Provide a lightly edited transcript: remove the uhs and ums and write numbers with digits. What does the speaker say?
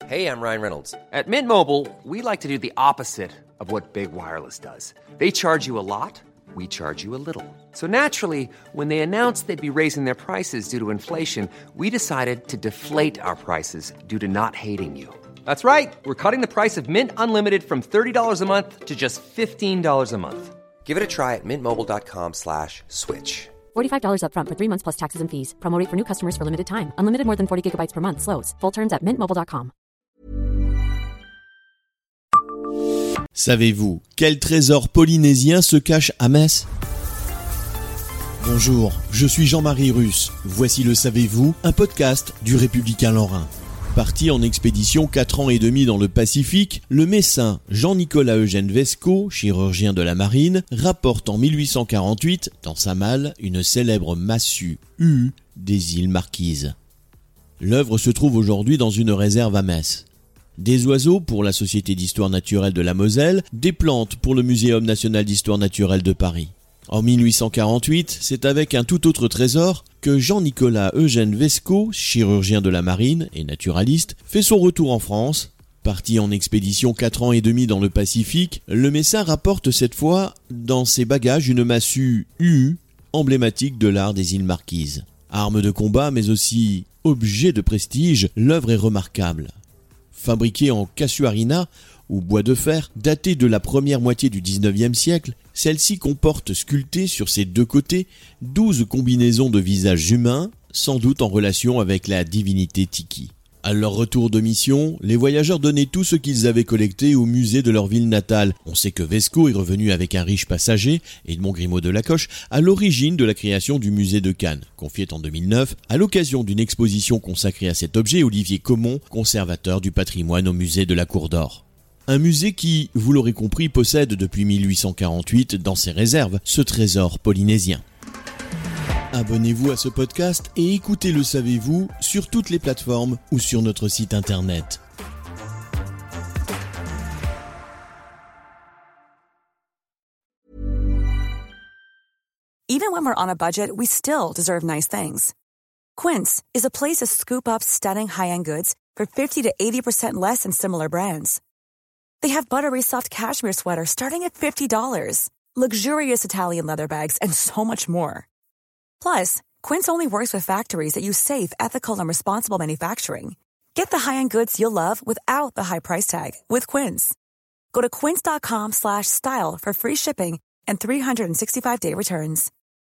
Hey, I'm Ryan Reynolds. At Mint Mobile, we like to do the opposite of what Big Wireless does. They charge you a lot, we charge you a little. So naturally, when they announced they'd be raising their prices due to inflation, we decided to deflate our prices due to not hating you. That's right. We're cutting the price of Mint Unlimited from $30 a month to just $15 a month. Give it a try at mintmobile.com/switch. $45 up front for 3 months plus taxes and fees. Promo rate for new customers for limited time. Unlimited more than 40 gigabytes per month. Slows full terms at mintmobile.com. Savez-vous quel trésor polynésien se cache à Metz ? Bonjour, je suis Jean-Marie Russe. Voici le Savez-vous, un podcast du Républicain Lorrain. Parti en expédition 4 ans et demi dans le Pacifique, le Messin Jean-Nicolas Eugène Vesco, chirurgien de la marine, rapporte en 1848, dans sa malle, une célèbre massue U des îles Marquises. L'œuvre se trouve aujourd'hui dans une réserve à Metz. Des oiseaux pour la Société d'histoire naturelle de la Moselle, des plantes pour le Muséum national d'histoire naturelle de Paris. En 1848, c'est avec un tout autre trésor que Jean-Nicolas Eugène Vesco, chirurgien de la marine et naturaliste, fait son retour en France. Parti en expédition 4 ans et demi dans le Pacifique, le Messin rapporte cette fois dans ses bagages une massue U, emblématique de l'art des îles Marquises. Arme de combat mais aussi objet de prestige, l'œuvre est remarquable. Fabriquée en casuarina, ou bois de fer, datée de la première moitié du XIXe siècle, celle-ci comporte sculptées sur ses deux côtés 12 combinaisons de visages humains, sans doute en relation avec la divinité Tiki. À leur retour de mission, les voyageurs donnaient tout ce qu'ils avaient collecté au musée de leur ville natale. On sait que Vesco est revenu avec un riche passager, Edmond Grimaud de Lacoche, à l'origine de la création du musée de Cannes, confié en 2009, à l'occasion d'une exposition consacrée à cet objet, Olivier Comon, conservateur du patrimoine au musée de la Cour d'Or. Un musée qui, vous l'aurez compris, possède depuis 1848 dans ses réserves ce trésor polynésien. Abonnez-vous à ce podcast et écoutez Le Savez-vous sur toutes les plateformes ou sur notre site internet. Even when we're on a budget, we still deserve nice things. Quince is a place to scoop up stunning high-end goods for 50 to 80% less than similar brands. They have buttery soft cashmere sweaters starting at $50, luxurious Italian leather bags, and so much more. Plus, Quince only works with factories that use safe, ethical, and responsible manufacturing. Get the high-end goods you'll love without the high price tag with Quince. Go to quince.com/style for free shipping and 365-day returns.